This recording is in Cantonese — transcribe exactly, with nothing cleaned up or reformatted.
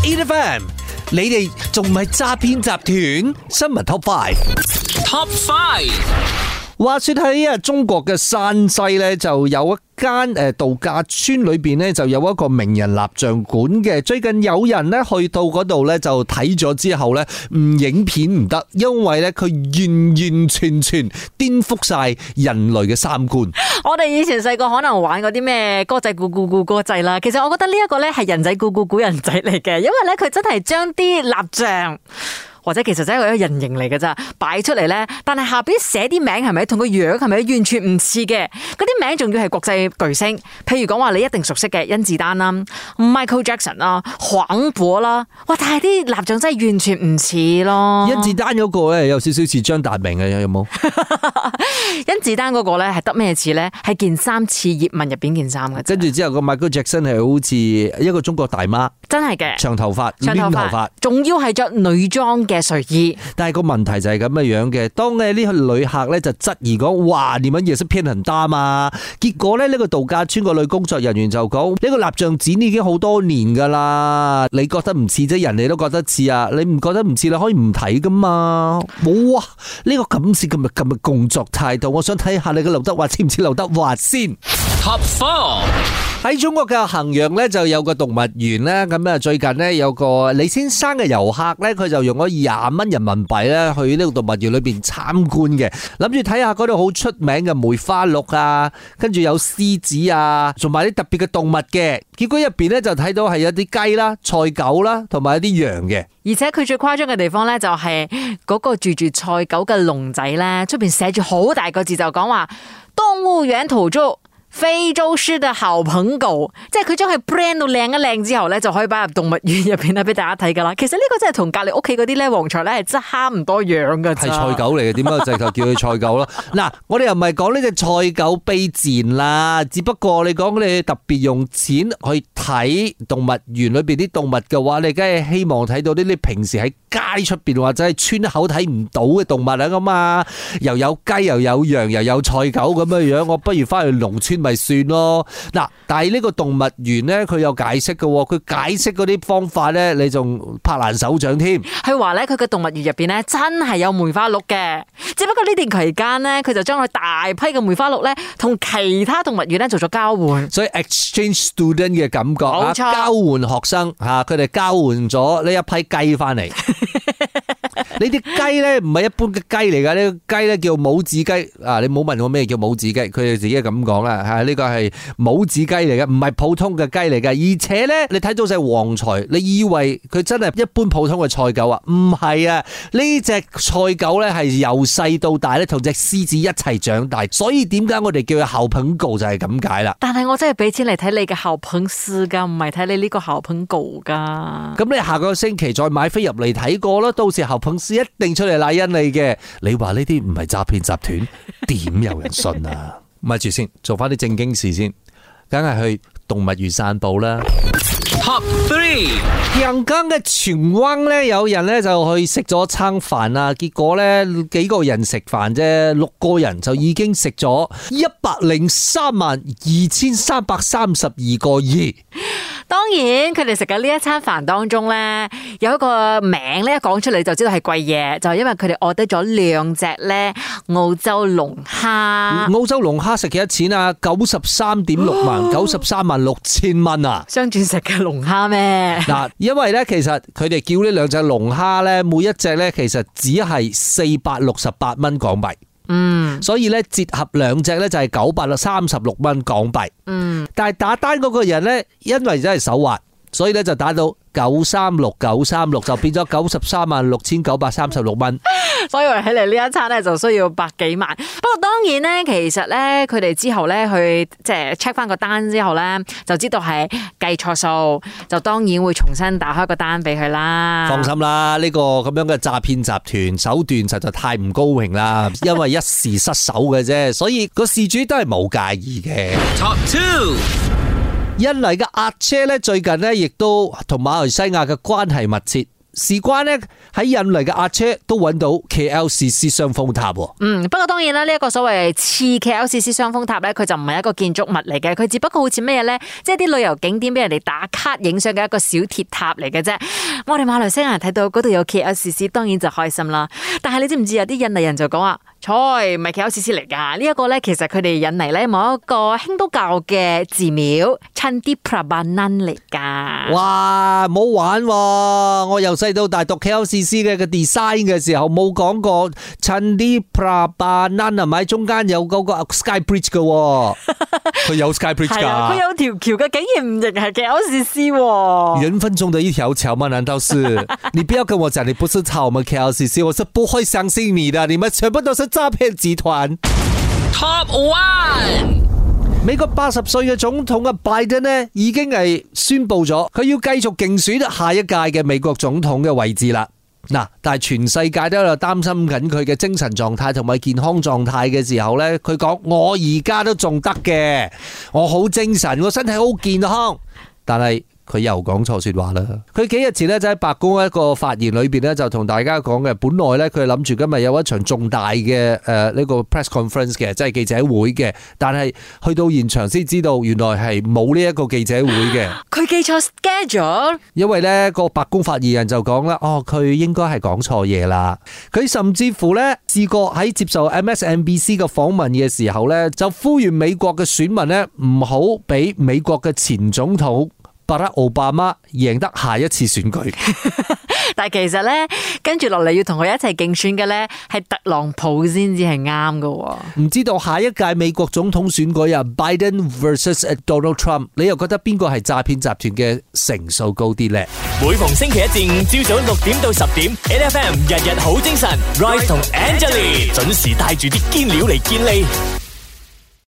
A F M， 你哋仲唔係詐騙集團？新聞 Top Five，Top Five。 話說喺啊中國嘅山西咧，就有一間誒度假村裏邊咧，就有一個名人蠟像館嘅。最近有人咧去到嗰度咧，就睇咗之後咧，唔影片唔得，因為咧佢完完全全顛覆晒人類嘅三觀。 我哋以前細個可能玩嗰啲咩歌仔鼓鼓鼓歌仔啦，其實我覺得呢一個咧係人仔鼓鼓鼓人仔嚟嘅，因為咧佢真係將啲蠟像。或者其實真係一個人形嚟嘅咋，擺出嚟咧，但係下邊寫啲名係咪同個樣係咪完全唔似嘅？嗰啲名仲要係國際巨星，譬如講話你一定熟悉嘅甄子丹啦、Michael Jackson 啦、黃渤啦，哇！但係啲蠟像真係完全唔似咯。 甄子丹嗰個咧有少少似張達明嘅，有冇？ 甄子丹嗰個咧係得咩似咧？係件衫似葉問入邊件衫嘅。 跟住之後個 Michael Jackson 係好似一個中國大媽， 真係嘅， 長頭髮、 長頭髮，仲要係着女裝嘅睡衣。 但係個問題就係咁嘅樣嘅，當咧呢個旅客咧就質疑講，哇，你們也是騙很大嘛？結果咧呢個度假村個女工作人員就講，呢個蠟像展已經好多年噶啦，你覺得唔似啫，人哋都覺得似啊，你唔覺得唔似，你可以唔睇噶嘛？冇啊，呢個咁似今日今日工作態度，我想睇下你嘅劉德華似唔似劉德華先。 Top Four。 喺中國嘅衡陽咧就有個動物園咧，咁啊最近咧有個李先生嘅遊客咧，佢就用咗廿蚊人民幣咧去呢個動物園裏邊參觀嘅，諗住睇下嗰度好出名嘅梅花鹿啊，跟住有獅子啊，同埋啲特別嘅動物嘅。結果入邊咧就睇到係一啲雞啦、菜狗啦，同埋一啲羊嘅。 而且佢最誇張嘅地方咧，就係嗰個住住菜狗嘅籠仔咧，出邊寫住好大個字就講話動物園土著。非洲獅嘅好朋狗，即係佢將佢 brand 到靚一靚之後咧，就可以擺入動物園入邊咧俾大家睇噶啦。其實呢個真係同隔籬屋企嗰啲咧黃菜咧係真係差唔多樣噶。係菜狗嚟嘅，點解直頭叫佢菜狗咯？嗱，我哋又唔係講呢隻菜狗卑賤啦，只不過你講你特別用錢去睇動物園裏邊啲動物嘅話，你梗係希望睇到呢啲平時喺街出邊或者係村口睇唔到嘅動物啊咁嘛，又有雞又有羊又有菜狗咁嘅樣，我不如翻去農村咪算咯。嗱，但係呢個動物園咧，佢有解釋嘅，佢解釋嗰啲方法咧，你仲拍爛手掌添。 佢話咧，佢嘅動物園入邊咧真係有梅花鹿嘅，只不過呢段期間咧，佢就將佢大批嘅梅花鹿咧同其他動物園咧做咗交換， 所以 exchange student 嘅感覺啊， 冇錯， 交換學生吓，佢哋交換咗呢一批雞翻嚟。呢啲雞咧唔係一般嘅雞嚟噶，呢個雞咧叫母子雞啊！你冇問我咩叫母子雞，佢哋自己咁講啦吓，呢個係母子雞嚟嘅，唔係普通嘅雞嚟嘅。而且咧，你睇到隻旺財，你以為佢真係一般普通嘅菜狗啊？唔係啊！呢隻菜狗咧係由細到大咧同隻獅子一齊長大，所以點解我哋叫佢好朋狗就係咁解啦。 但係我真係俾錢嚟睇你嘅好朋獅噶，唔係睇你呢個好朋狗噶。 咁你下個星期再買飛入嚟睇過啦，到時好朋獅一定出嚟賴恩你嘅。你話呢啲唔係詐騙集團，點有人信啊？咪住先，做翻啲正經事先，梗係去動物園散步啦。 Top Three， 陽江嘅荃灣咧，有人咧就去食咗餐飯啊，結果咧幾個人食飯啫，六個人就已經食咗一百零三萬二千三百三十二個億。 當然，佢哋食緊呢一餐飯當中咧，有一個名咧，一講出嚟就知道係貴嘢，就係因為佢哋order得咗兩隻咧澳洲龍蝦。 澳洲龍蝦食幾多錢啊？九十三點六萬，九十三萬六千蚊啊！ 雙鑽石嘅龍蝦咩？ 嗱，因為咧，其實佢哋叫呢兩隻龍蝦咧，每一隻咧，其實只係四百六十八蚊港幣。嗯，所以咧折合兩隻咧就係九百三十六蚊港幣。嗯，但係打單嗰個人咧，因為真係手滑，所以咧就打到九三六九三六，就變咗九十三萬六千九百三十六蚊。 所以話起嚟呢一餐咧就需要百幾萬。不過當然咧，其實咧佢哋之後咧去即係 check 翻個單之後咧，就知道係計錯數，就當然會重新打開個單俾佢啦。 放心啦，呢個咁樣嘅詐騙集團手段實在太唔高明啦，因為一時失手嘅啫，所以個事主都係冇介意嘅。 Top Two。 印尼嘅阿姐咧，最近咧亦都同馬來西亞嘅關係密切。 事關呢，喺印尼嘅阿車都揾到 K L C C 雙峰塔。 嗯，不過當然啦，呢一個所謂似 K L C C 雙峰塔咧，佢就唔係一個建築物嚟嘅，佢只不過好似咩咧，即係啲旅遊景點俾人哋打卡影相嘅一個小鐵塔嚟嘅啫。我哋馬來西亞人睇到嗰度有 K L C C， 當然就開心啦。但係你知唔知有啲印尼人就講話，菜唔係 K L C C 嚟噶？呢一個咧，其實佢哋印尼咧某一個興都教嘅寺廟 Candi Prambanan 嚟噶。 哇，唔好玩喎！我由細到大讀 K L C C 嘅個 design 嘅時候，冇講過 Candi Prambanan 係咪？中間有嗰個 Sky Bridge 嘅，佢有 Sky Bridge 係啊， 噶。 佢有條橋嘅，竟然唔認係 K L C C 喎。 人分鐘的一條橋嗎？難道是？你不要跟我講你不是抄我們 K L C C， 我是不會相信你的。你們全部都是詐騙集團。 Top One。 美國八十歲嘅總統嘅拜登呢，已經係宣布咗，佢要繼續競選下一屆嘅美國總統嘅位置啦。嗱，但係全世界都有擔心緊佢嘅精神狀態同埋健康狀態嘅時候呢，佢講我而家都仲得嘅，我好精神，我身體好健康，但係。佢又講錯說話啦！佢幾日前咧就喺白宮一個發言裏邊咧就同大家講嘅，本來咧佢諗住今日有一場重大嘅誒呢個 press conference 嘅，即係記者會嘅，但係去到現場先知道原來係冇呢一個記者會嘅。 佢記錯 schedule， 因為咧個白宮發言人就講啦，哦佢應該係講錯嘢啦。佢甚至乎咧試過喺接受 M S N B C 嘅訪問嘅時候咧，就呼籲美國嘅選民咧唔好俾美國嘅前總統巴拉奧巴馬贏得下一次選舉， 但係其實咧，跟住落嚟要同佢一齊競選嘅咧，係特朗普先至係啱㗎。 唔知道下一屆美國總統選舉啊 ，Biden versus Donald Trump， 你又覺得邊個係詐騙集團嘅成數高啲咧？ 每逢星期一至五朝早六點到十點 ，N F M 日日好精神 ，Rise 同 Angelie 準時帶住啲堅料嚟健利。